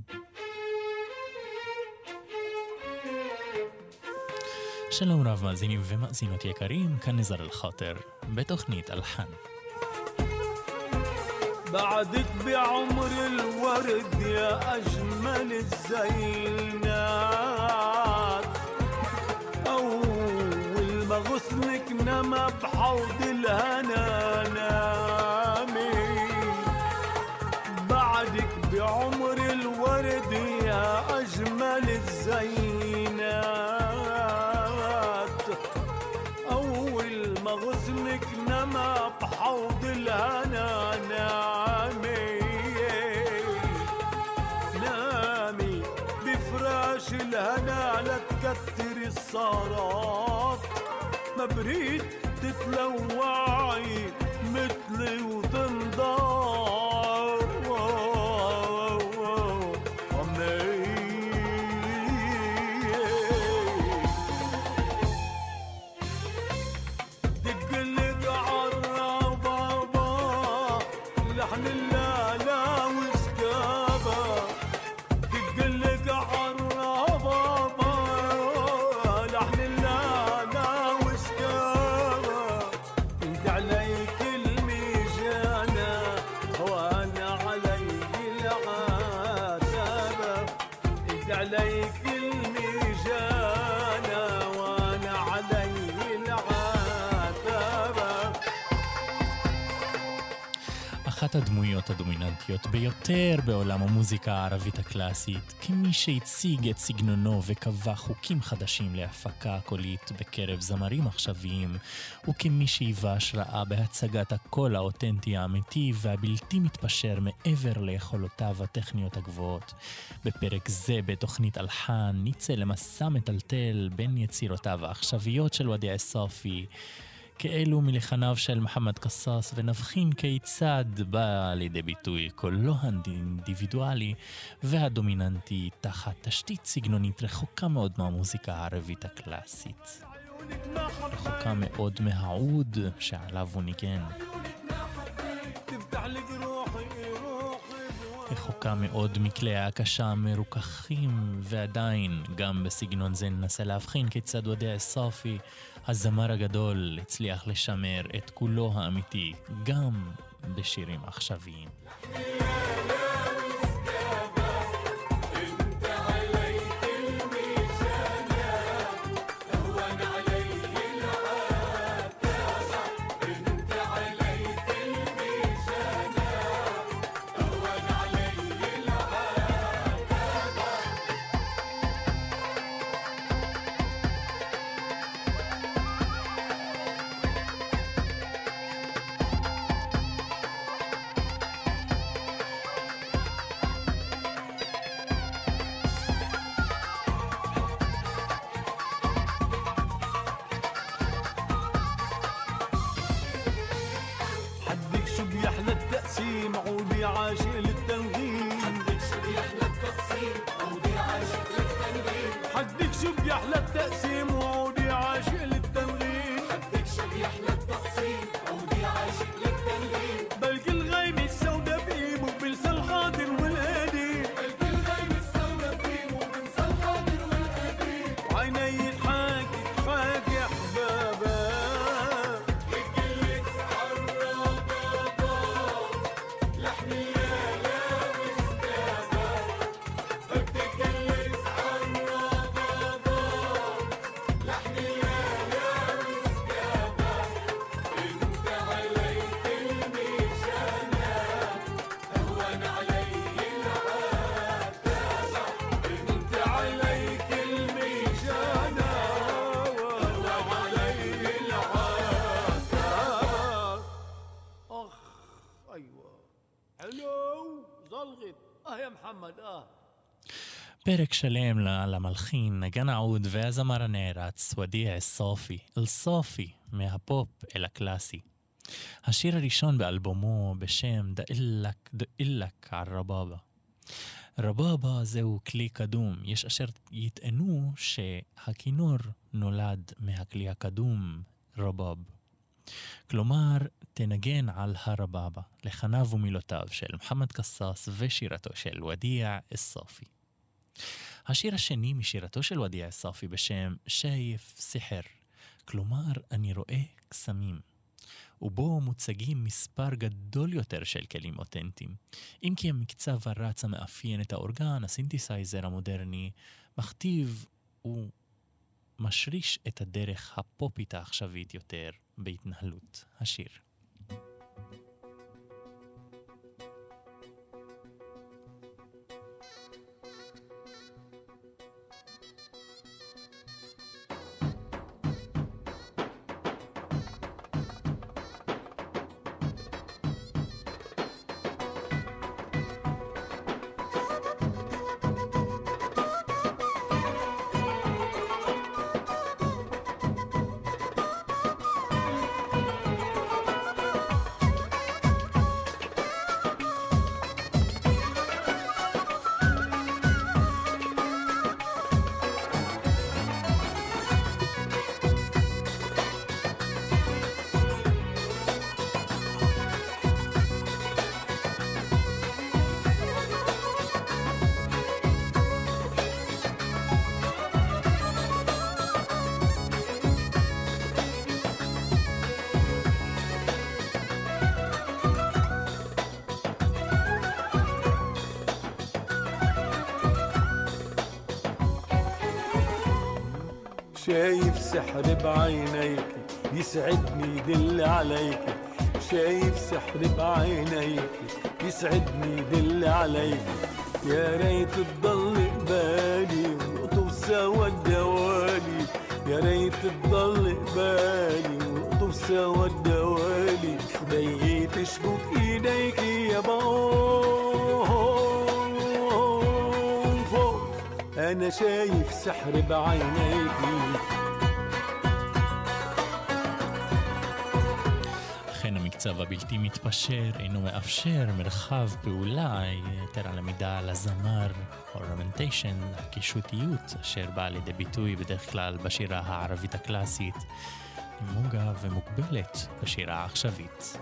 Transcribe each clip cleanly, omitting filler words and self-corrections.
שלום רב מאזינים ומאזינות יקרים, כאן נזר אל-חאטר בתוכנית אלחן. بعدك بعمر الورد يا أجمل الزينات أول ما غصنك نما بحوض الهنا نامي بعدك بعمر الورد يا أجمل الزينات أول ما غصنك نما بحوض الهنا نامي نامي بفراش الهنا لا تكتر الصارات ما بريد تتلوعي مثلي وتنضار لحن اللالا وسكابة تقلق عالربابة لحن اللالا وسكابة انت عليك الميجانة وانا علي العتابة انت عليك الميجانة وانا علي العتابة. אחת הדמויות הדומיננטיות ביותר בעולם המוזיקה הערבית הקלאסית, כמי שהציג את סגנונו וקבע חוקים חדשים להפקה קולית בקרב זמרים עכשוויים, וכמי שהיווה השראה בהצגת הקול האותנטי האמיתי והבלתי מתפשר מעבר ליכולותיו הטכניות הגבוהות. בפרק זה בתוכנית אלחן נצא למסע מטלטל בין יצירותיו העכשוויות של ודיע א-סאפי כאלו מלחניו של מוחמד קסאס, ונבחין כיצד בא לידי ביטוי קולו האינדיבידואלי והדומיננטי תחת תשתית סגנונית רחוקה מאוד מהמוזיקה הערבית הקלאסית, רחוקה מאוד מהעוד שעליו הוא ניגן, רחוקה מאוד מכלי ההקשה המרוככים, ועדיין גם בסגנון זה ננסה להבחין כיצד ודיע א-סאפי הזמר הגדול הצליח לשמר את כולו האמיתי גם בשירים עכשוויים. פרק שלם למלחין, נגן העוד והזמר הנערץ ודיע א-סאפי, אל-סאפי, מהפופ אל הקלאסי. השיר הראשון באלבומו בשם דאילק על רבאבה. רבאבה זהו כלי קדום, יש אשר יטענו שהכינור נולד מהכלי הקדום רבאב. כלומר, תנגן על הרבאבא, לחניו ומילותיו של מוחמד קסאס ושירתו של ודיע א-סאפי. השיר השני משירתו של ודיע א-סאפי בשם שייף סיחר, כלומר אני רואה קסמים, ובו מוצגים מספר גדול יותר של כלים אותנטיים. אם כי המקצב הרץ המאפיין את האורגן, הסינתסייזר המודרני, מכתיב ומשריש את הדרך הפופית העכשווית יותר בהתנהלות השיר. شايف سحر بعينيك يسعدني يدل عليك، شايف سحر بعينيك يسعدني يدل عليك، يا ريت تضل قبالي ونقطف سوا الدوالي، يا ريت تضل قبالي ونقطف سوا الدوالي، بيي تشبك ايديك يا بوف، انا شايف سحر بعينيك. המקצב הבלתי מתפשר אינו מאפשר מרחב פעולה יותר על המידה על הזמר, אורנמנטיישן, הקישותיות אשר באה לידי ביטוי בדרך כלל בשירה הערבית הקלאסית, נמוגה ומוגבלת בשירה העכשווית.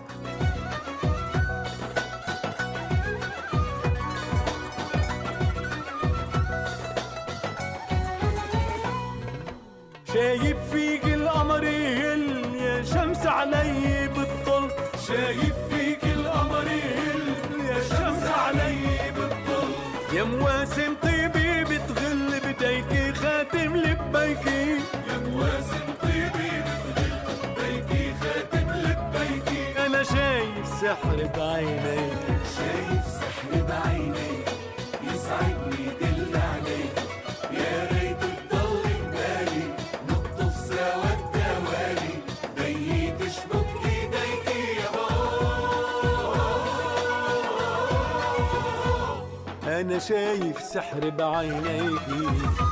شايف فيك القمر يهل يا شمس علي بالطل، شايف فيك القمر يهل يا شمس علي بالطل، يا مواسم طيبي بتغل بديكي خاتم لبيكي، يا مواسم طيبي بتغل بديكي خاتم لبيكي، انا شايف سحر بعينيك، شايف سحر بعينيك يسعدني يدل عليك، يا ريت تضل قبالي نقطف سوا الدوالي، بيي تشبك ايديكي يا بابا، انا شايف سحر بعينيكي.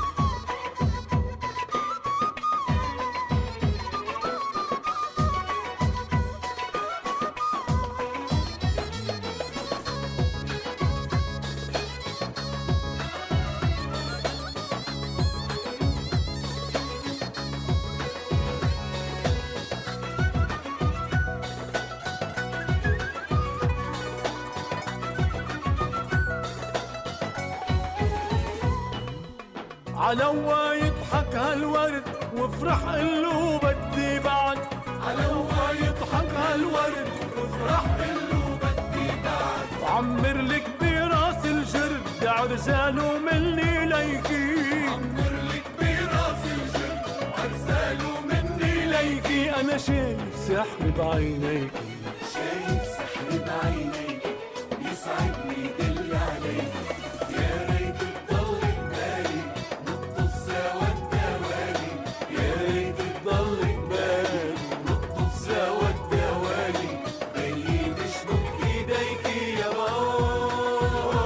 علوا يضحك هالورد وافرح قلو بدي بعد، علوا يضحك هالورد وافرح قلو بدي بعد، وعمر لك براس الجرد عرزاله مني ليكي، عمر لك براس الجرد عرزاله مني ليكي، انا شايف سحر بعينيكي، شايف سحر بعينيك يسعدني يدل عليك، يا ريت تضل قبالي نقطف سوا الدوالي، يا ريت تضل قبالي نقطف سوا الدوالي، بيي تشبك ايديكي يا بابا،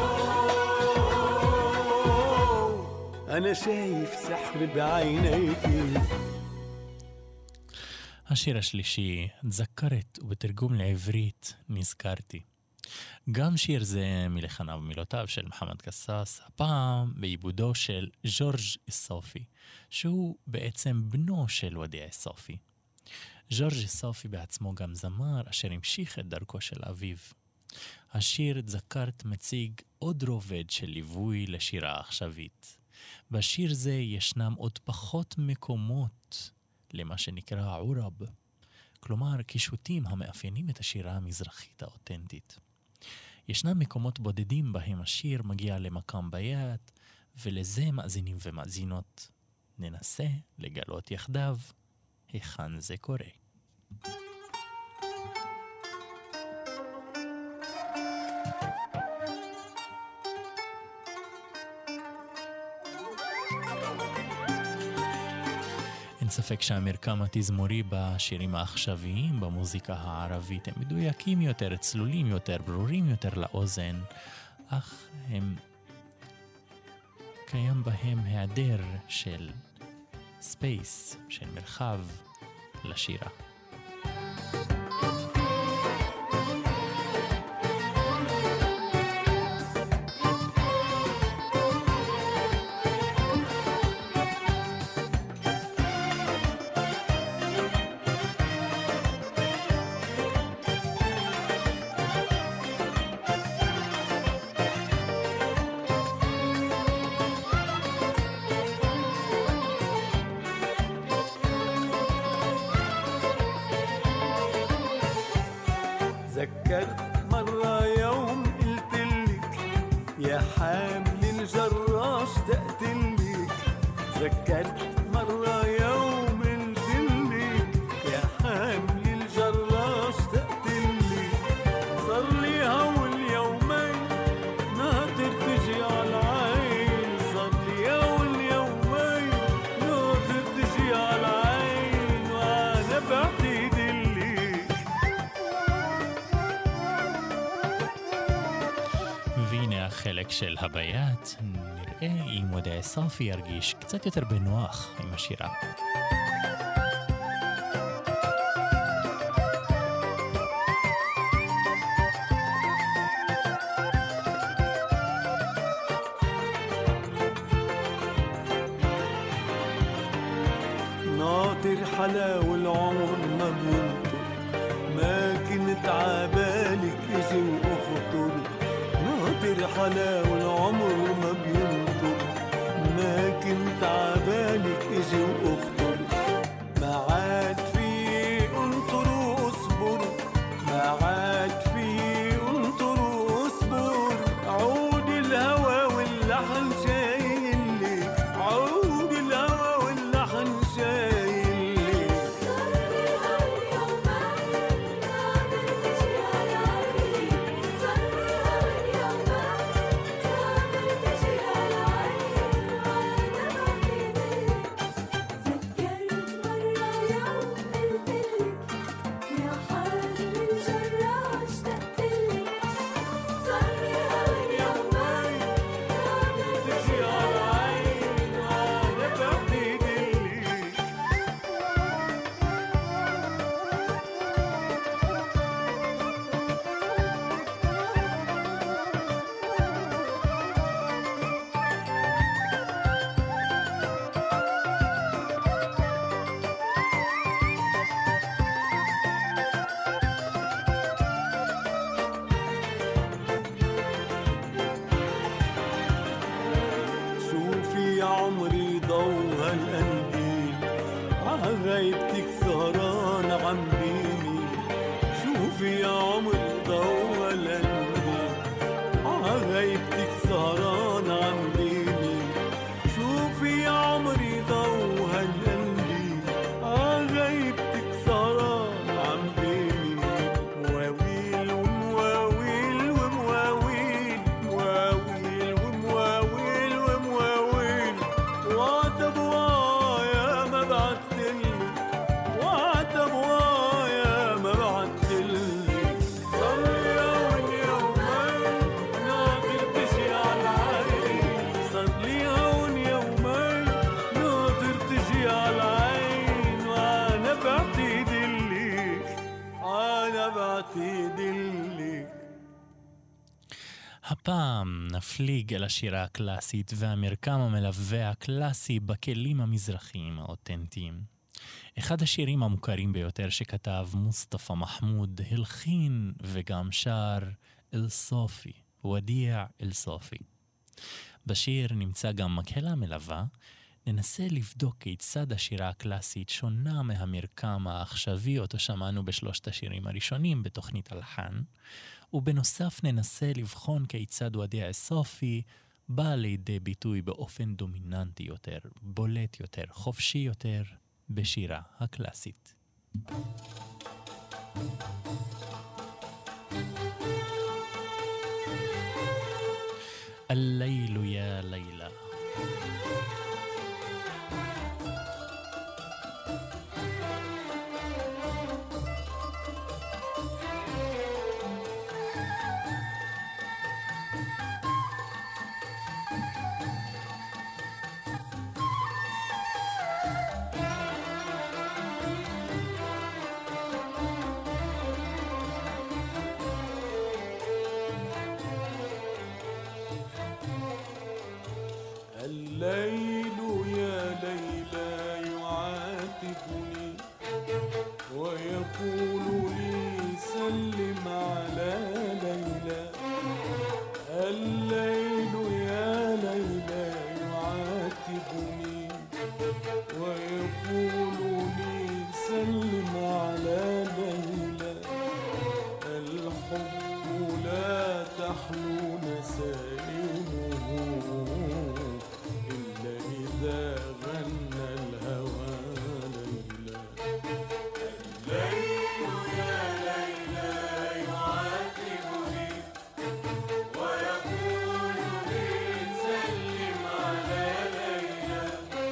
انا شايف سحر بعينيكي. השיר השלישי, זכרת, ובתרגום לעברית, נזכרתי. גם שיר זה מלחניו ומילותיו של מוחמד קסאס, הפעם בעיבודו של ז'ורג' א-סאפי, שהוא בעצם בנו של ודיע א-סאפי. ז'ורג' סופי בעצמו גם זמר אשר המשיך את דרכו של אביו. השיר "זכרת" מציג עוד רובד של ליווי לשירה עכשווית. בשיר זה ישנם עוד פחות מקומות למה שנקרא עורב, כלומר קישוטים המאפיינים את השירה המזרחית האותנטית. ישנם מקומות בודדים בהם השיר מגיע למקם ביד, ולזה מאזינים ומאזינות ננסה לגלות יחדיו היכן זה קורה. אין ספק שהמרקם התזמורי בשירים העכשוויים במוזיקה הערבית הם מדויקים יותר, צלולים יותר, ברורים יותר לאוזן, אך הם קיים בהם היעדר של ספייס, של מרחב לשירה. ذكرت مرة يوم قلتلك يا حامل الجراش اشتقتلك. ذكرت مرة يوم قلتلك يا حامل الجراش اشتقتلك. صار لي هول يومين ناطر تجي على العين. صار لي هول يومين ناطر تجي على العين وانا بعتقد והנה החלק של הביית, נראה אם ודאי סופי ירגיש קצת יותר בנוח עם השירה. ناطر حلاوة العمر ما بينطر. ما كنت عبالك اجي واخطر. ناطر حلاوة العمر ما بينطر. ما كنت عبالك اجي واخطر. ما عاد في انطر واصبر. ما عاد في انطر واصبر. عود الهوى واللحن شايلك. عود الهوى واللحن شايلك. شوفي يا عمري ضو هالقلبي عغيبتك سهران عم بيني. شوفي يا عمري ضو هالقلبي عغيبتك سهران عم بيني. شوفي يا عمري ضو هالقلبي عغيبتك سهران عم بيني. مواويل ومواويل ومواويل مواويل ومواويل ومواويل. وعتب وايا ما بعتلك. وعتب وايا ما بعتلك. صار لي هون يومين ناطر تجي على العين. صار لي هون يومين ناطر تجي على العين وانا بعتقدلك. انا بعتقدلك. הפעם נפליג אל השירה הקלאסית והמרקם המלווה הקלאסי בכלים המזרחיים האותנטיים. אחד השירים המוכרים ביותר שכתב מוסטפא מחמוד, הלחין וגם שר אל סופי, ודיע אל סופי. בשיר נמצא גם מקהלה מלווה. ננסה לבדוק כיצד השירה הקלאסית שונה מהמרקם העכשווי אותו שמענו בשלושת השירים הראשונים בתוכנית הלחן, ובנוסף ננסה לבחון כיצד ודיע אל סופי בא לידי ביטוי באופן דומיננטי יותר, בולט יותר, חופשי יותר בשירה הקלאסית. الليل يا ليلى. الليل يا ليلى يعاتبني ويقول لي سلم على ليلى. الليل يا ليلى يعاتبني ويقول لي سلم على ليلى. الحب لا تحلو نسائمه إلا إذا غنى الهوى ليلى. الليل يا ليلى يعاتبني ويقول لي سلم على ليلى.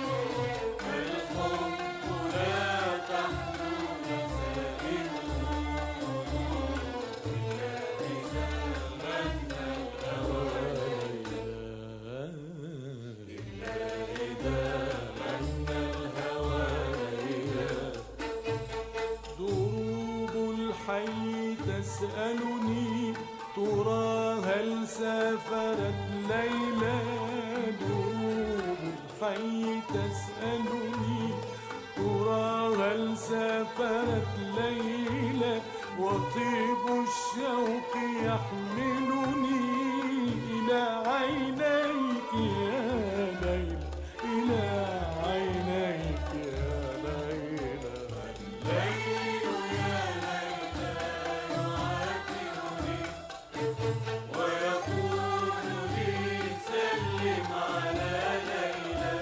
الحب لا تحلو نسائمه إلا إذا غنى الهوى ليلى. إذا غنى الهوى ليلى. دروب الحي تسألني ترى هل سافرت ليلى. دروب الحي تسألني ترى هل سافرت ليلى. وطيب الشوق يحملني إلى عينيك يا ليلى. إلى عينيك يا ليلى. الليل يا ليلى يعاتبني ويقول لي سلم على ليلى.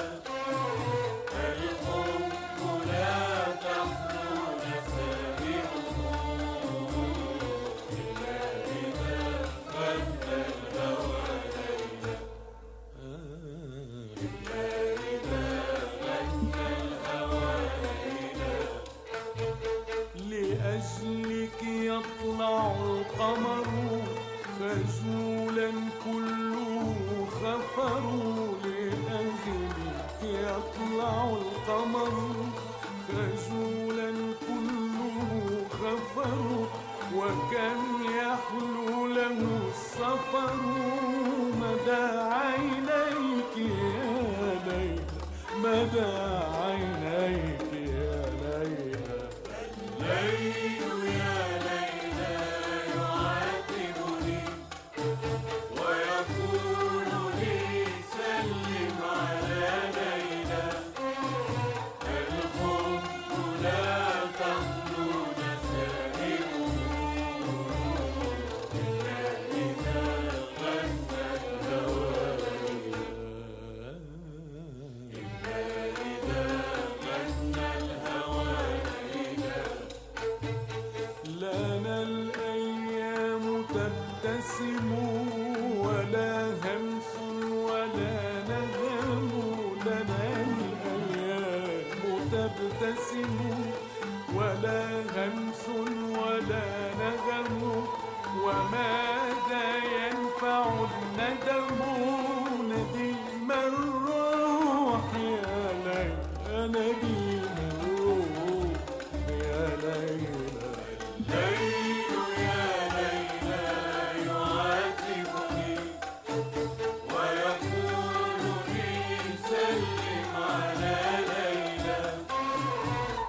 الحب لا تحلو نسائمه إلا إذا غنى الهوى ليلى. إلا إذا غنى الهوى ليلى. لأجلك يطلع القمر خجولا كله خفر. لأجلك يطلع القمر خجولا كله خفر. وكم يحلو له السفر مدى عينيك يا ليلى. مدى عينيك يا ليلى. الليل يا ليلى يعاتبني ويقول لي سلم على ليلى. الحب لا تحلو نسائمه إلا إذا غنى الهوى ليلى. إلا إذا غنى الهوى ليلى. لنا الأيام تبتسم ولا همس ولا نغم. لنا الأيام تبتسم ولا همس ولا نغم. وماذا ينفع الندم نديم الروح يا ليلى. نديم الروح يا ليلى. الليل يا ليلى يعاتبني ويقول لي سلم على ليلى.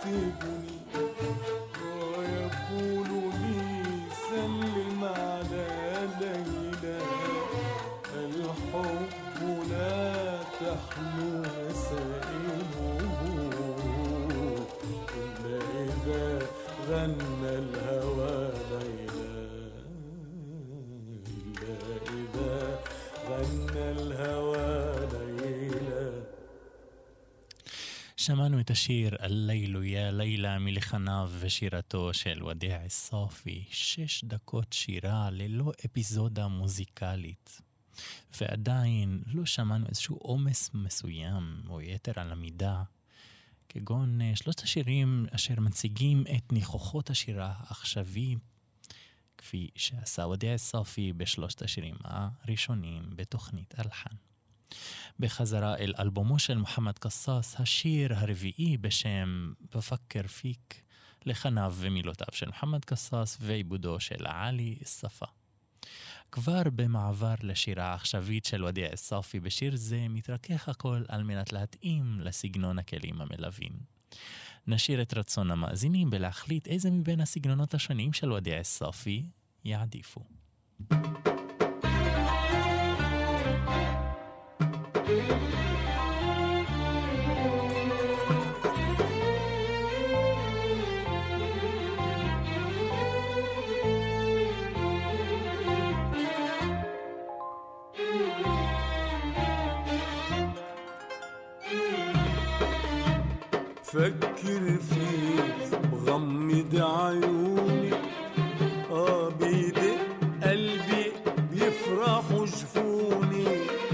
يعاتبني ويقول لي سلم على ليلى الحب لا تحلو مسائله إلا إذا غنى الهوى ليلى إلا إذا غنى الهوى ليلى. שמענו את השיר "הליל יא לילה" מלחניו ושירתו של ודיע א-סאפי. 6 דקות שירה ללא אפיזודה מוזיקלית. ועדיין לא שמענו איזשהו עומס מסוים או יתר על המידה, כגון 3 השירים אשר מציגים את ניחוחות השירה העכשווי, כפי שעשה ודיע א-סאפי ב3 השירים הראשונים בתוכנית אלחן. בחזרה אל אלבומו של מוחמד קסאס, השיר הרביעי בשם "בפכר פיק", לחניו ומילותיו של מוחמד קסאס ועיבודו של עלי א-ספה. כבר במעבר לשירה העכשווית של ודיע א-סאפי, בשיר זה מתרכך הכל על מנת להתאים לסגנון הכלים המלווים. נשאיר את רצון המאזינים בלהחליט איזה מבין הסגנונות השונים של ודיע א-סאפי יעדיפו. فكر فيك بغمض عيوني بيدق قلبي بيفرحوا جفوني.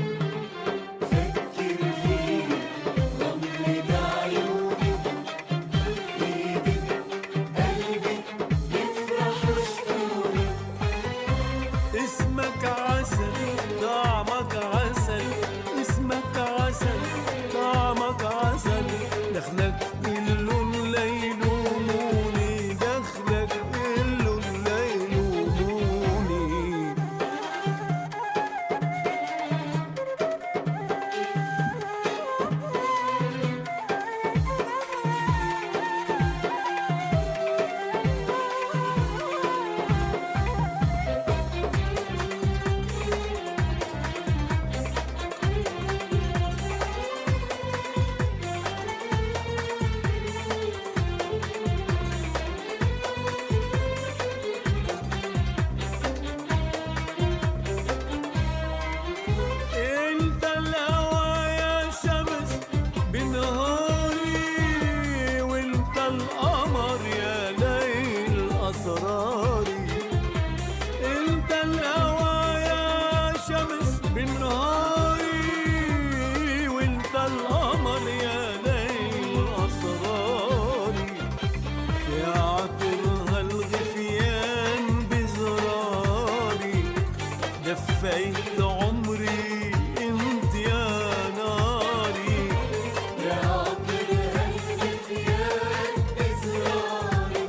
فكر فيك بغمض عيوني بيدق قلبي بيفرحوا جفوني. اسمك عسل طعمك عسل، اسمك عسل طعمك عسل، دخلك اللون ليل وموني، دخلك اللون ليل وموني. دفيت عمري انت يا ناري، يا عطر هالنسيان بزراري،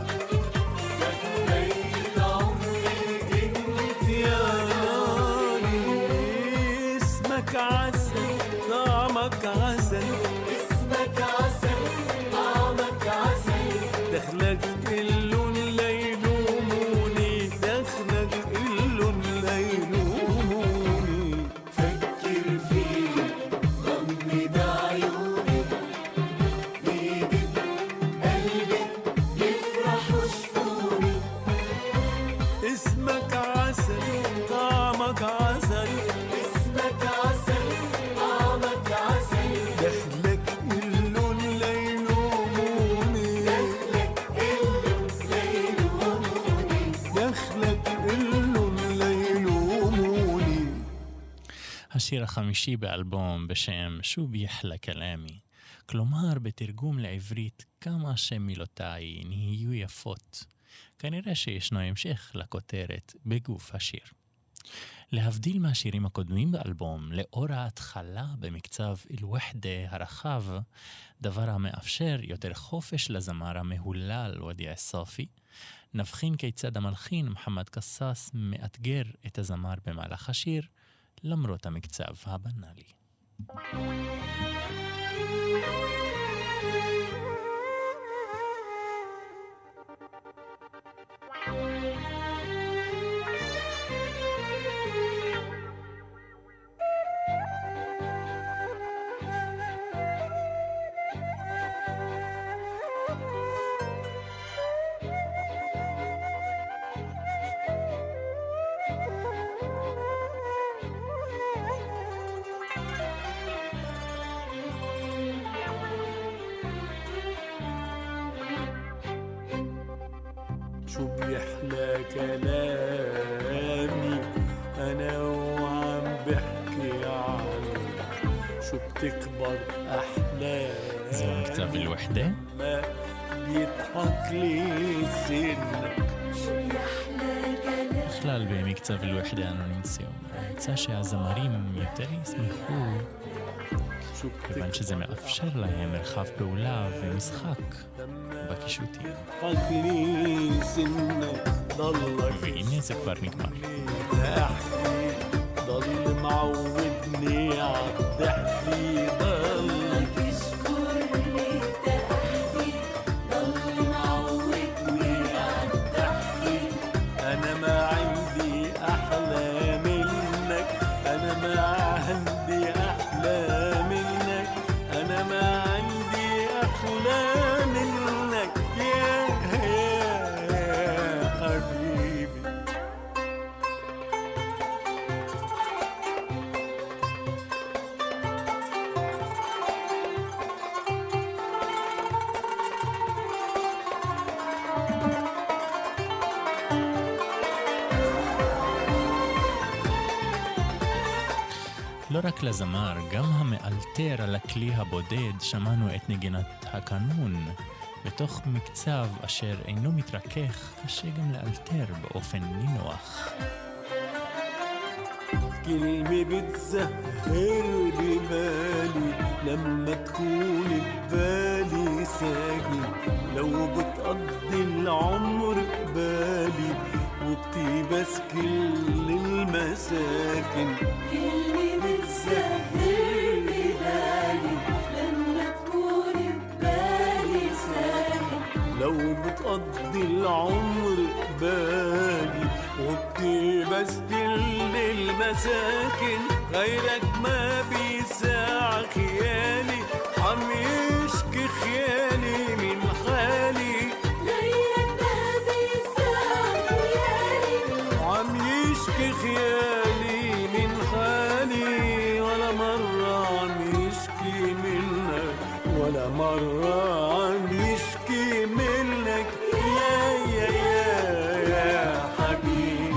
دفيت عمري انت يا ناري. اسمك عسل طعمك عسل، اسمك عسل طعمك عسل، دخلك اللون ليل وموني، دخلك اللون ليل وموني. فكر فيك غمض عيوني بيدق قلبي يفرحوا جفوني. اسمك عسل طعمك عسل، اسمك عسل طعمك عسل، دخلك اللون ليل وموني، دخلك اللون ليل وموني، دخلك اللون ليل وموني. השיר החמישי באלבום בשם "שוב יחלה כלאמי", כלומר בתרגום לעברית כמה שמילותיי נהיו יפות. כנראה שישנו המשך לכותרת בגוף השיר. להבדיל מהשירים הקודמים באלבום, לאור ההתחלה במקצב אל-וחדה הרחב, דבר המאפשר יותר חופש לזמר המהולל ודיע א-סאפי, נבחין כיצד המלחין מוחמד קסאס מאתגר את הזמר במהלך השיר, למרות המקצב הבנאלי. شو بيحلى كلامي أنا وعم بحكي عنك شو بتكبر أحلامي זהו מכתב الوحدة? ما بيضحك لي سنك בכלל במקצב الوحدة אנו נמצאים. יצא שהזמרים יותר ישמחו, כיוון שזה מאפשר להם מרחב פעולה ומשחק בקישוטים. והנה זה כבר נגמר. ضل معودني عالضحكي ضلك اشكرني تحكي ضل معودني عالضحكي أنا ما عندي أحلى منك أنا ما عندي أحلى منك أنا ما عندي أحلى منك يا حبيبي לא רק לזמר, גם המאלתר על הכלי הבודד שמענו את נגינת הקנון. בתוך מקצב אשר אינו מתרכך, קשה גם לאלתר באופן נינוח. كلمة بتزهر ببالي لما تكون ببالي ساكن لو بتقضي العمر قبالي وبتيبس كل المساكن كلمة بتزهر ببالي لما تكون ببالي ساكن لو بتقضي العمر قبالي وبتيبس كل المساكن غيرك ما بيساع خيالي عم يشكي خيالي من حالي غيرك ما بيساع خيالي عم يشكي خيالي من حالي ولا مرة عم يشكي منك ولا مرة عم يشكي منك يا حبيبي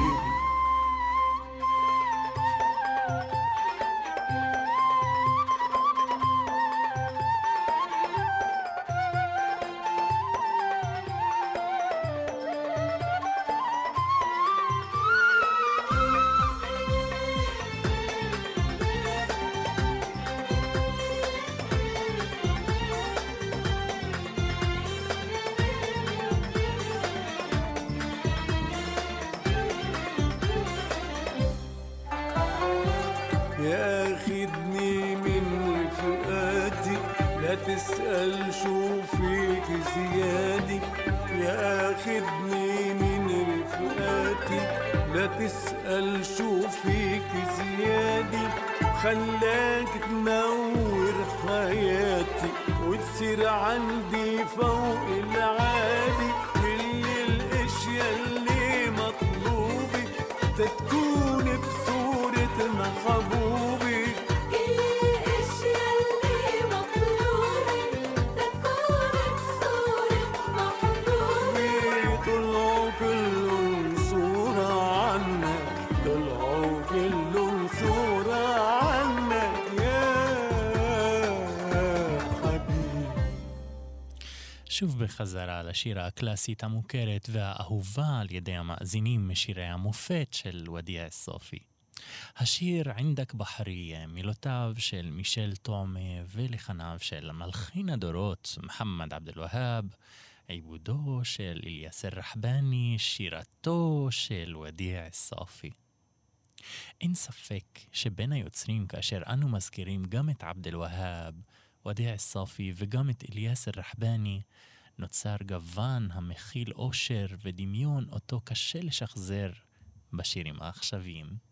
ياخدني من رفقاتي لا تسأل شو فيك زيادي ياخدني من رفقاتي لا تسأل شو فيك زيادي خلاك تنور حياتي وتصير عندي فوق العادي كل الاشياء اللي مطلوبة تكون بصورة محبوبي كل الاشياء اللي مطلوبة تكون بصورة محبوبي طلعوا كلهم صورة عنك طلعوا كلهم صورة عنك يا حبيبي. שוב בחזרה לשיר הקלאסית המוכרת והאהובה על ידי המאזינים משירי המופת של ודיה א-סופי. השיר ענדק בחרייה, מילותיו של מישל תומא ולחניו של מלחין הדורות מוחמד עבד אל-והאב, עיבודו של אליאס א-רחבאני, שירתו של ודיה א-סופי. אין ספק שבין היוצרים כאשר אנו מזכירים גם את עבד אל-והאב, ודיה א-סופי וגם את אליאס א-רחבאני, נוצר גוון המכיל אושר ודמיון אותו קשה לשחזר בשירים העכשוויים.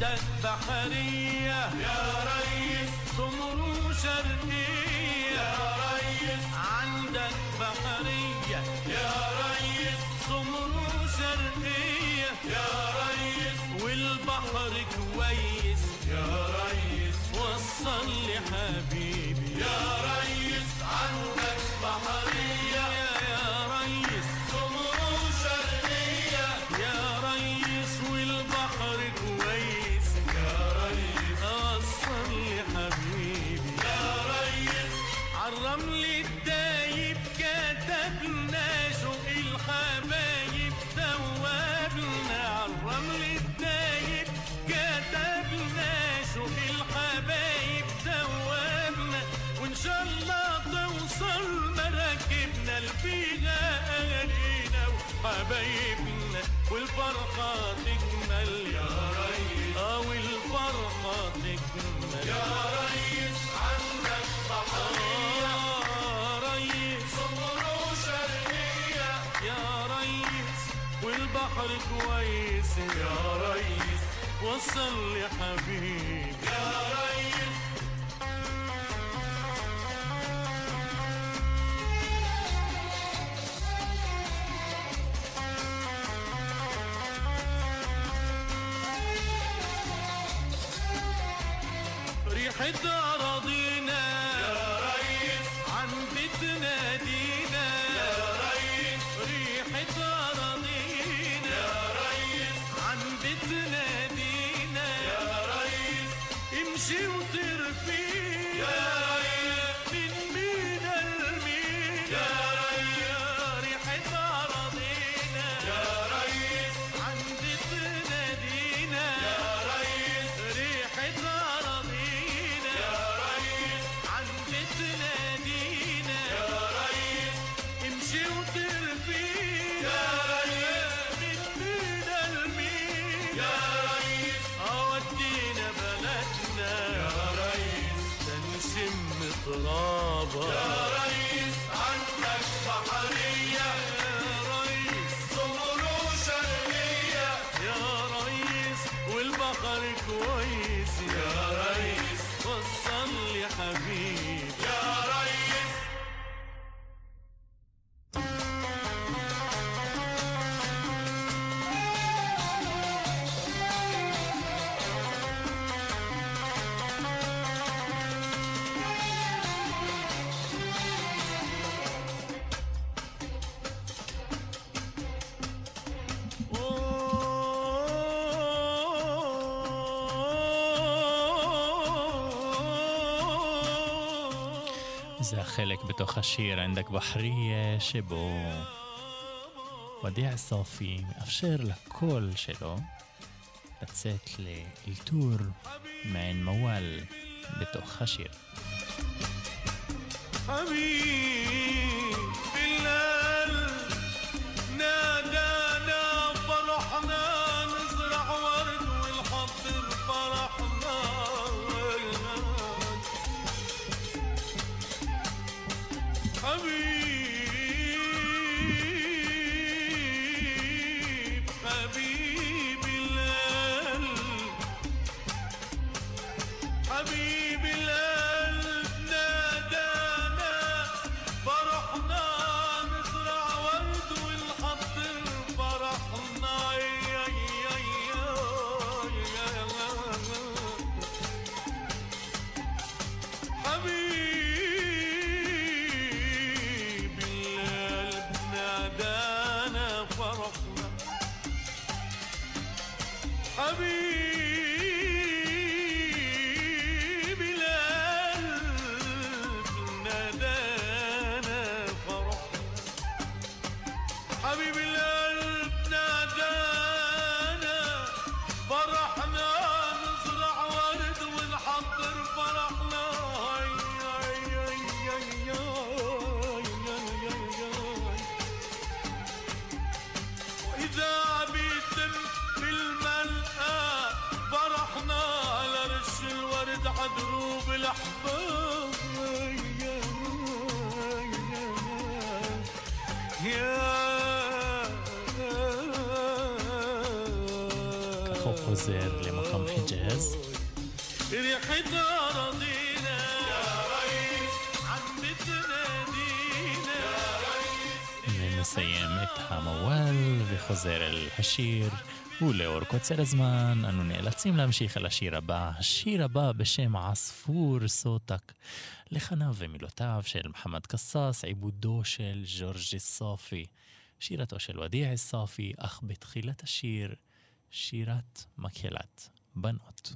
عندك بحرية يا ريس سمر وشرقية يا ريس عندك بحرية يا ريس سمر وشرقية يا ريس والبحر كويس يا ريس وصل لي حبيبي يا ريس عندك بحرية يا ريس سمر وشرقية يا ريس والبحر كويس يا ريس وصل لي حبيبي يا ريس عالرمل الدايب كتبنا شوق الحبايب ثوابنا عالرمل الدايب كتبنا شوق الحبايب ثوابنا وإن شاء الله توصل مراكبنا لفيها أهالينا وحبايبنا والفرحة تكمل يا ريس والفرحة تكمل يا ريس عندك بحرية يا ريس سمر وشرقية يا ريس والبحر كويس يا ريس وصل لي حبيبي يا ريس ريحة أراضينا يا ريس عن بيتنا دينا يا ريس ريحة أراضينا يا ريس عن بيتنا دينا يا ريس امشي وطير فينا يا ريس من مينا لمينا يا ريس ريحة أراضينا يا ريس عن بيتنا دينا يا ريس ريحة أراضينا يا ريس عن بيتنا دينا يا ريس امشي وطير فينا يا ريس من مينا لمينا يا ريس ودينا بلدنا يا ريس تنشم ترابها يا ريس عندك بحرية يا ريس سمر وشرقية يا ريس والبحر كويس يا ريس وصل لي حبيبي يا ريس זה החלק בתוך השיר ענדק בחריה שבו ודיע סופי מאפשר לקול שלו לצאת לאלתור מעין מוואל בתוך השיר. حبيب بالقلب نادانا فرحنا نزرع ورد والحضر فرحنا حبيب حبيب القلب حبيب القلب نادانا فرحنا نزرع ورد والحضر فرحنا حبيب القلب نادانا فرحنا حبيب القلب نادانا فرحنا حبيب القلب نادانا فرحنا نزرع ورد ونحضر فرحنا وإذا بيتم بالملقى فرحنا على رش الورد عدروب الأحباب כך הוא חוזר למקום رقم حجاز. ريحتنا رضينا يا ريس عم بتنادينا يا ريس. ونسيم إتها موال וחוזר אל השיר. ולאור קוצר הזמן אנו נאלצים להמשיך על השיר הבא. השיר הבא בשם עספור סוטק, לחניו ומילותיו של מוחמד קסאס, עיבודו של ג'ורג' סופי, שירתו של ודיע סופי, אך בתחילת השיר שירת מקהלת בנות.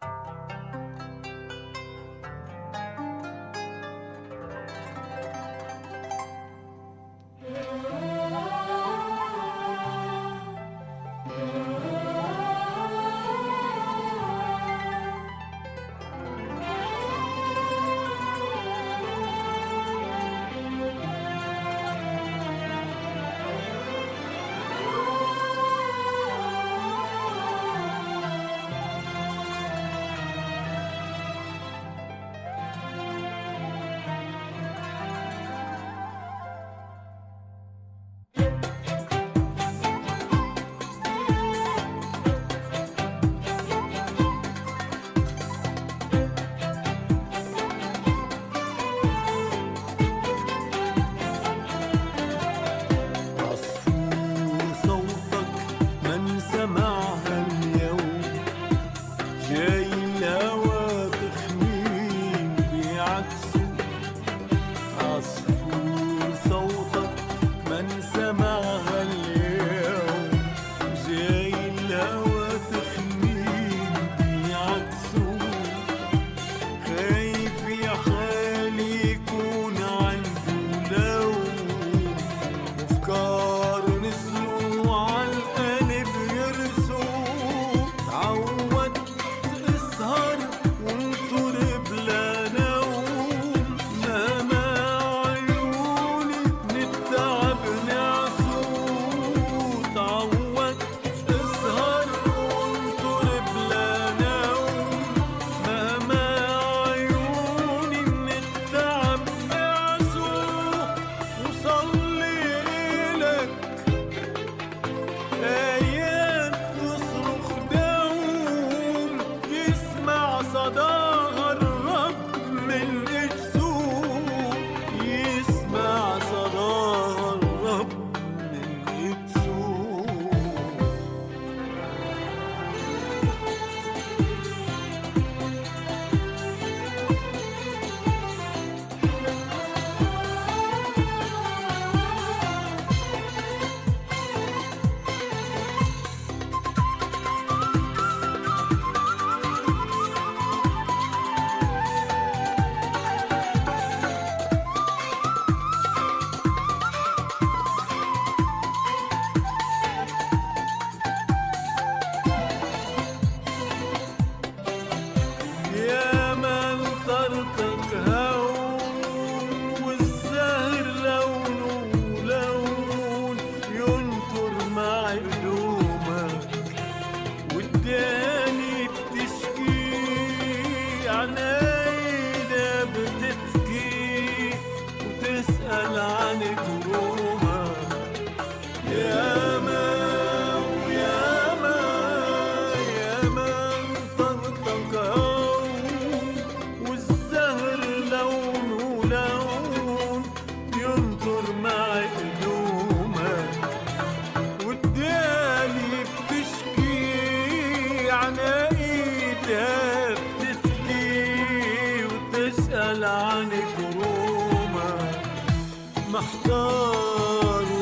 محتار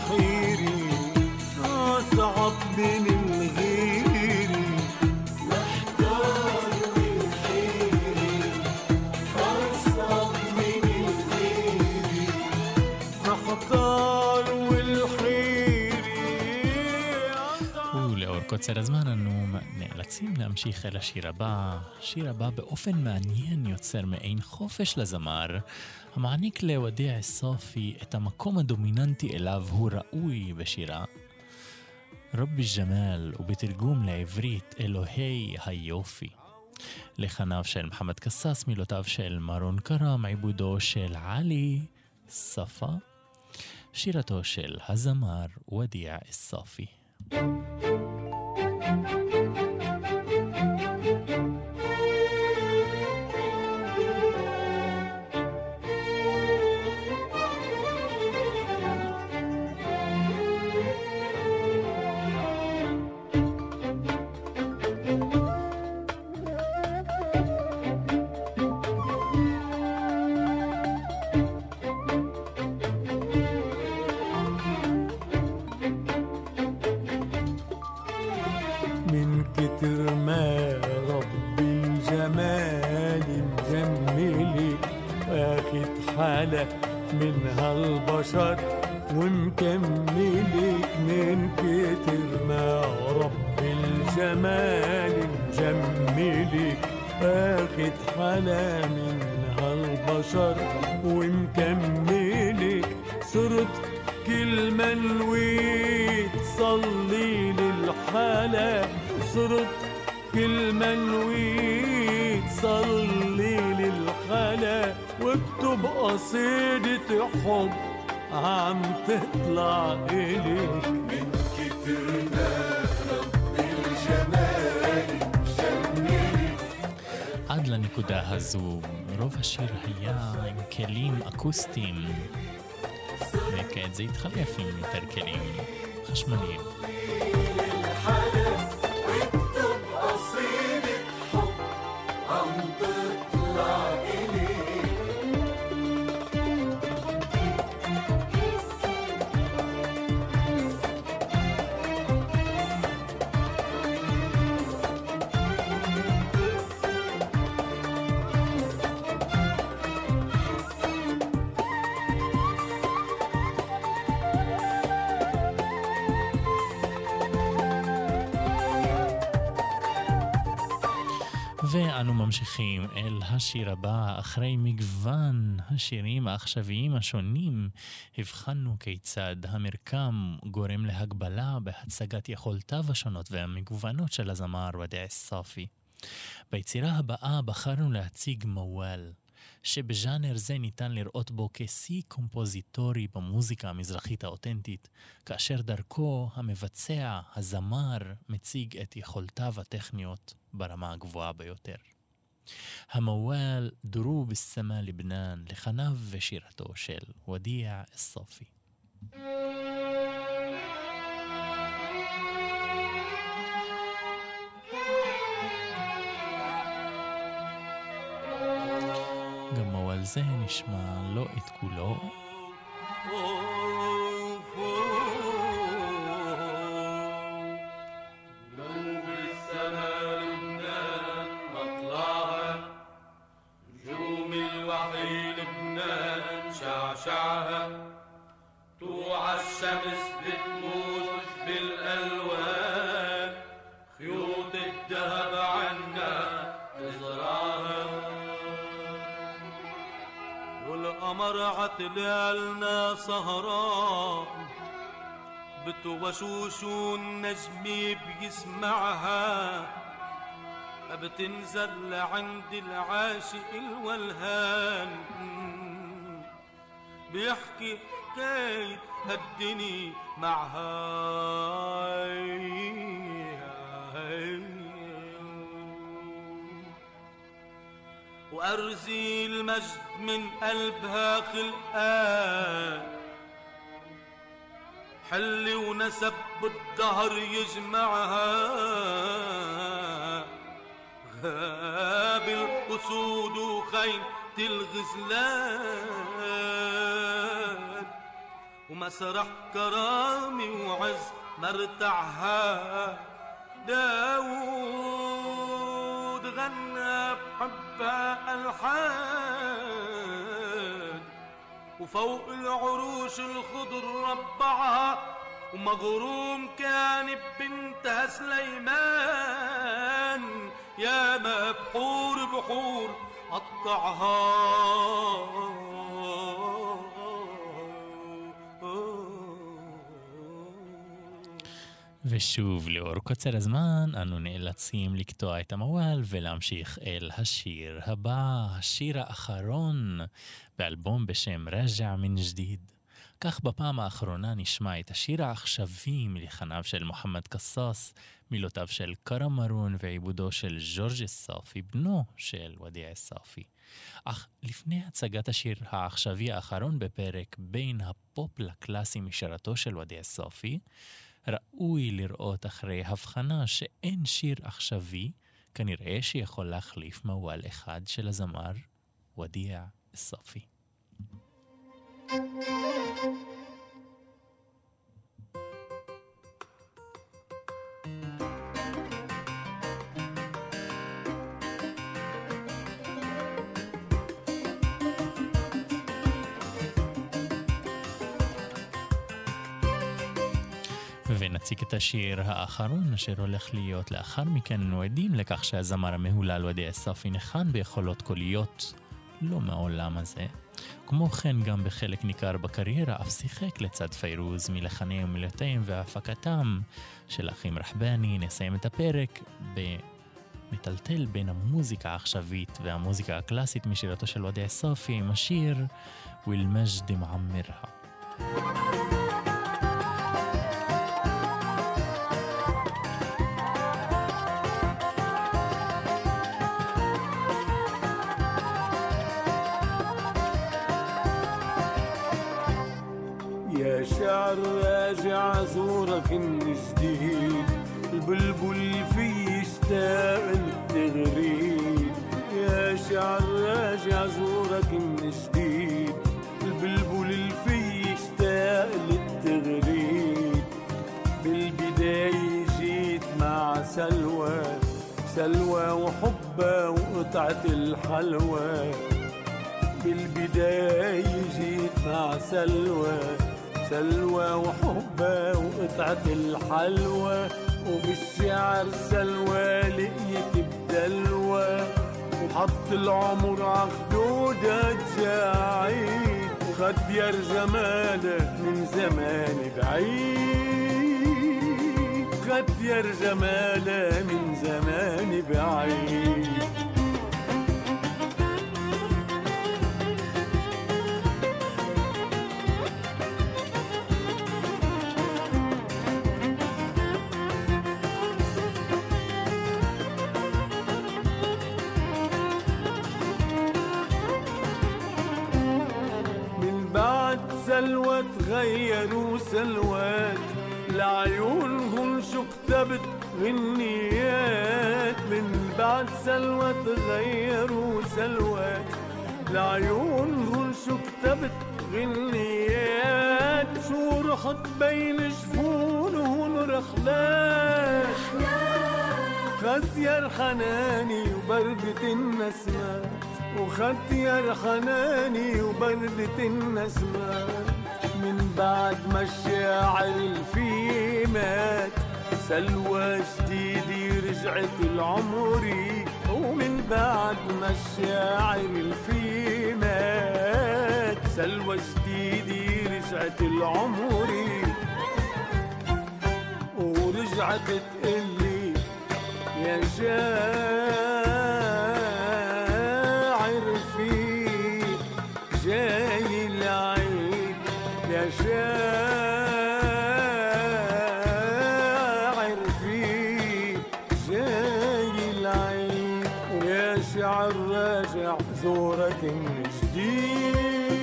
الحيري أصعب من الغيري محتار الحيري أصعب من الغيري محتار الحيري ולאור קוצר הזמן אנו נאלצים להמשיך אל השיר הבא. השיר הבא באופן מעניין יוצר מעין חופש לזמר, המעניק לודיע סופי את המקום הדומיננטי אליו הוא ראוי בשירה. רבי ג'מאל, ובתרגום לעברית אלוהי היופי. לחניו של מוחמד קסאס, מילותיו של מרון קרם, עיבודו של עלי ספה, שירתו של הזמר ודיע סופי. الحالة من هالبشر، ومكملك من كتر ما رب الجمال مجملك، اخد حالة من هالبشر ومكملك، صرت كل ما نويت صلي للحالة، صرت كل ما نويت صلي للحالة، واكتب قصيدة حب عم تطلع إليك من كتر ما رب الجمال مجملك. עד לנקודה הזו, רוב השיר היה עם כלים אקוסטיים, וכעת זה התחלף עם יותר כלים חשמליים. ואנו ממשיכים אל השיר הבא. אחרי מגוון השירים העכשוויים השונים, הבחנו כיצד המרקם גורם להגבלה בהצגת יכולותיו השונות והמגוונות של הזמר ודיע א-סאפי. ביצירה הבאה בחרנו להציג מוואל, שבז'אנר זה ניתן לראות בו כשיא קומפוזיטורי במוזיקה המזרחית האותנטית, כאשר דרכו המבצע, הזמר, מציג את יכולותיו הטכניות ברמה הגבוהה ביותר. המוואל דרוב א-סמה לבנן, לחניו ושירתו של ודיע א-סאפי. גם מוואל זה נשמע לא את כולו. توع الشمس بتموج بالألوان، خيوط الذهب عنا تزرعها، والقمر عتلالنا سهران بتوشوش النجم بيسمعها، بتنزل عند العاشق الولهان، بيحكي حكاية هالدني معها، وأرزي المجد من قلبها خلقان، حل ونسب بالدهر يجمعها، غاب الأسود وخيل الغزلان، ومسرح كرامي وعز مرتعها، داود غنى بحبها ألحان، وفوق العروش الخضر ربعها، ومغروم كان ببنتها سليمان، يا ما بحور بحور قطعها. ושוב, לאור קוצר הזמן, אנו נאלצים לקטוע את המוואל ולהמשיך אל השיר הבא, השיר האחרון באלבום בשם רג'ע מן ג'דיד. כך בפעם האחרונה נשמע את השיר העכשווי מלחניו של מוחמד קסאס, מילותיו של קרם מרון ועיבודו של ג'ורג' א-סאפי, בנו של ודיע א-סאפי. אך לפני הצגת השיר העכשווי האחרון בפרק בין הפופ לקלאסי משירתו של ודיע א-סאפי, ראוי לראות אחרי הבחנה שאין שיר עכשווי, כנראה שיכול להחליף מוואל אחד של הזמר ודיע א-סאפי. ונציג את השיר האחרון אשר הולך להיות לאחר מכן. אנו עדים לכך שהזמר המהולל וודע אספי ניחן ביכולות קוליות לא מהעולם הזה. כמו כן גם בחלק ניכר בקריירה אף שיחק לצד פיירוז מלחני ומילותיהם והפקתם של אחים רחבני. נסיים את הפרק במטלטל בין המוזיקה העכשווית והמוזיקה הקלאסית משירתו של וודע אספי עם השיר والمجد معمرها. يا شعر راجع زورك من جديد، البلبل في يشتاق للتغريد. يا شعر راجع زورك من جديد، البلبل في يشتاق للتغريد. بالبداية جيت مع سلوى، سلوى وحبة وقطعة الحلوى. بالبداية جيت مع سلوى، سلوى وحبة وقطعة الحلوى. وبالشعر سلوى لقيت بدلوى، وحط العمر عخدودها تجاعيد. وخدير جمالك من زمان بعيد، خدير جمالك من زمان بعيد. سلوى تغيروا سلوات، لعيونهم شو كتبت غنيات. من بعد سلوى تغيروا سلوات، لعيونهم شو كتبت غنيات. شو رحت بين جفونهم رخلات، خدير حناني وبردة النسمات، وخدير حناني وبردة النسمات. من بعد ما الشاعر الفي مات، سلوى جديدي رجعت العمري. ومن بعد ما الشاعر الفي مات، سلوى جديدي رجعت العمري. ورجعت تقلي يا شاعر في جاي العيد، يا شاعر في جاي العيد. ويا شعر راجع زورك من جديد.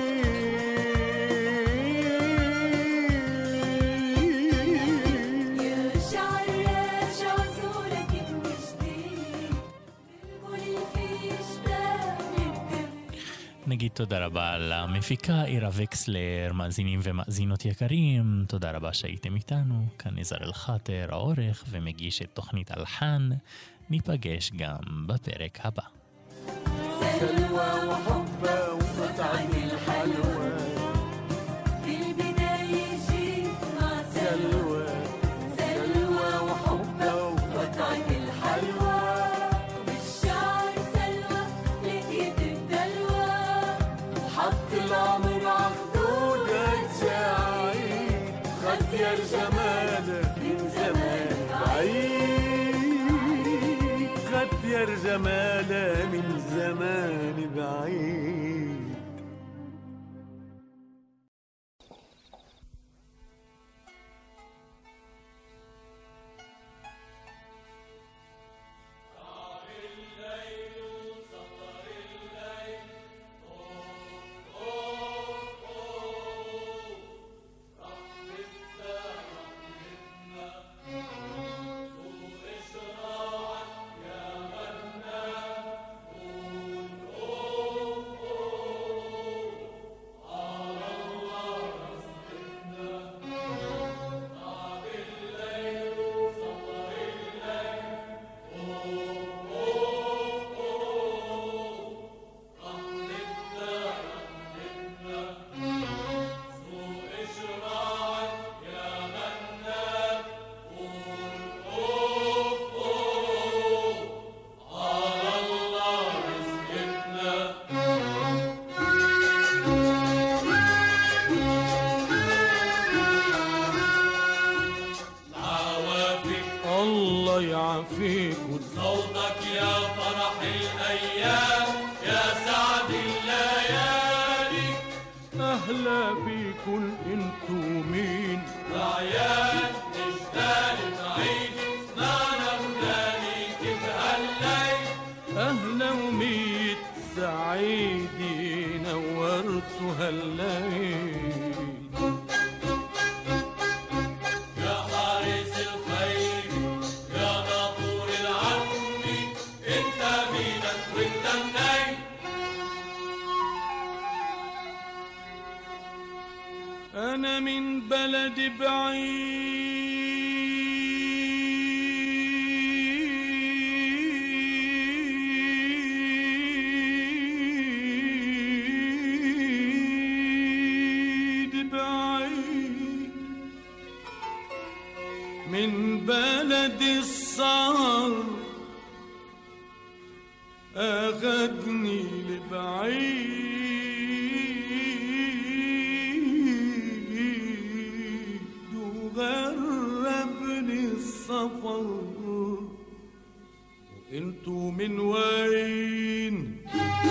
נגיד תודה רבה למפיקה אירה וקסלר. מאזינים ומאזינות יקרים, תודה רבה שהייתם איתנו. כאן נזר אל חאטר, העורך ומגיש את תוכנית אלחן. ניפגש גם בפרק הבא. سلوى وحبة وقطعة الحلوى، بالبداية جيت مع سلوى سلوى وحبة وقطعة الحلوى. بالشعر سلوى لقيت الدلوى، حط العمر عخدودها تجاعيد. خدير جمالك من زمان بعيد، خدير جمالك من زمان بعيد. لكل انتو مين؟ رعيان نشتاق نعيد سمعنا ولاني كيف هالليل أهلا وميت سعيدي نورتوا هالليل. يا حارس الخير يا ناطور العم انت مينك وانت منين أنا من بلد بعيد بعيد من بلد السهر أخدني لبعيد وغربني السفر. وانتو من وين؟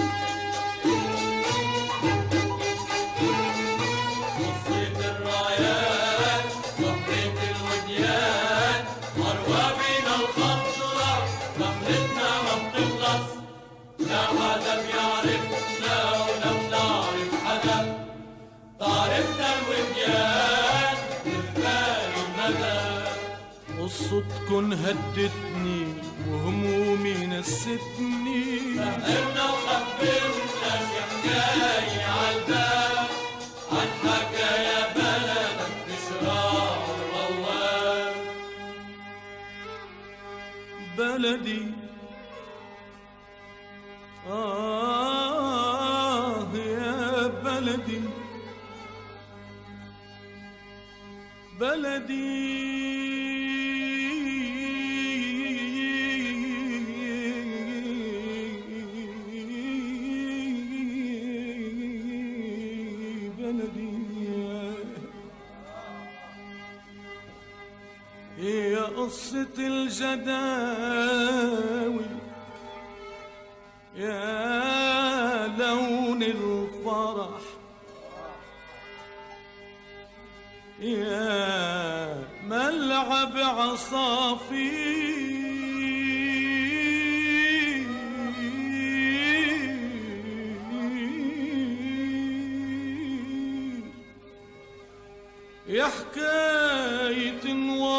قصة الرايات صحبة الوديان أروابنا الخضرا رحلتنا ما بتخلص لا حدا بيعرفنا ولا بنعرف حدا تعرفنا الوديان بالبال المدى. قصتكن هدتني وهمومي نستني سهرنا وخبرنا شي حكاية عالبال عن حكايا بلدك بشراع وروان. بلدي يا بلدي بلدي بلدي هي قصة الجداوي يا لون الفرح يا ملعب عصافير يا حكاية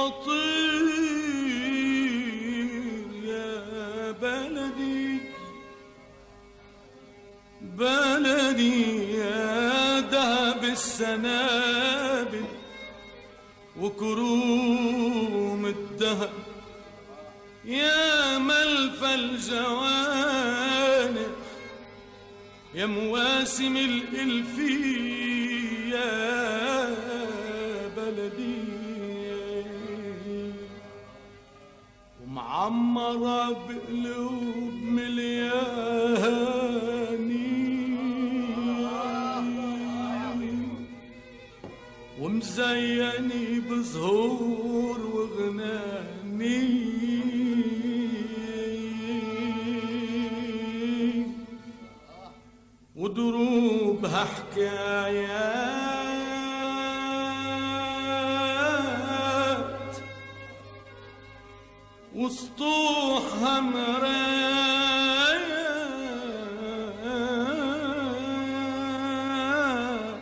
وطير يا بلدي بلدي يا دهب السنابل وكروم الدهب يا ملفى الجوانب يا مواسم الإلفية يا بلدي ومعمرة بقلوب ملياني ومزيني بزهور وغناني ودروبها حكايات وسطوحها مرايات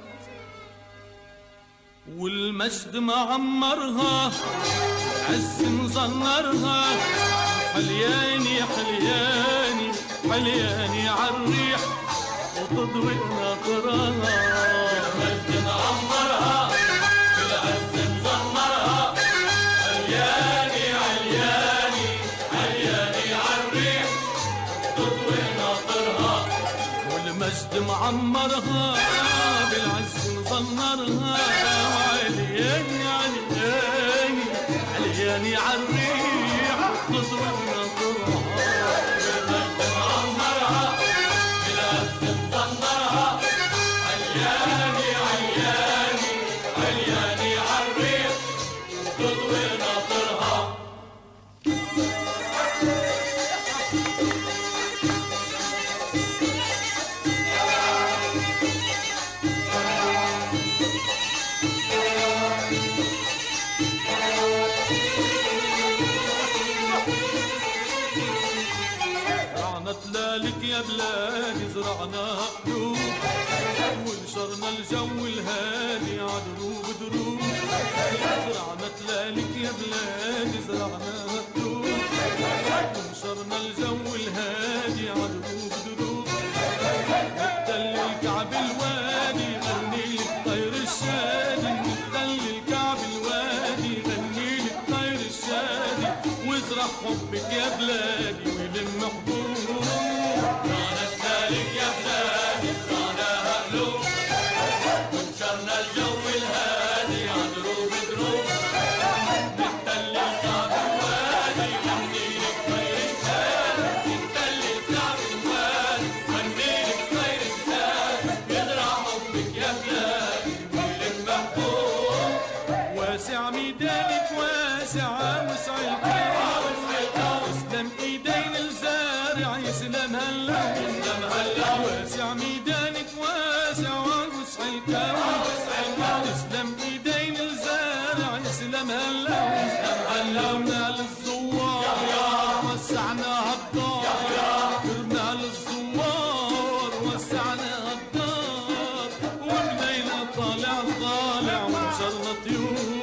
والمجد معمرها عز مزنرها حلياني حلياني حلياني عالريح وتضوي ناطرها المجد معمرها بالعز مزمرها علياني علياني علياني عالريح تضوي ناطرها والمجد معمرها بالعز مزنرها علياني علياني علياني عالريح تضوي ناطرها المجد معمرها بالعز مزمرها علياني علياني علياني عالريح تضوي ناطرها. زرعناها قلوب ونشرنا الجو الهادي عدروب دروب زرعنا تلالك يا بلادي زرعناها قلوب ونشرنا الجو الهادي عدروب دروب نتدلل الكعب الوادي غني لك طير الشادي نتدلل الكعب الوادي غني لك طير الشادي وازرع حبك يا بلادي ويلم حبوب زرعنا تلالك يا بلادي زرعناها قلوب ونشرنا الجو الهادي عدروب دروب نتدلل الكعب الوادي غني لك طير الشادي نتدلل الكعب الوادي غني لك طير الشادي يزرع حبك يا بلادي ويلم محبوب واسع ميدانك واسع وسع الكون اسلم ايدين الزارع يسلم هلا واسع ميدانك واسع وسع الكون اسلم ايدين الزارع يسلم هلا علمنا للزوار وسعنا الدار قرنا للزوار وسعنا الدار وبليلة طالع ونشرنا طيور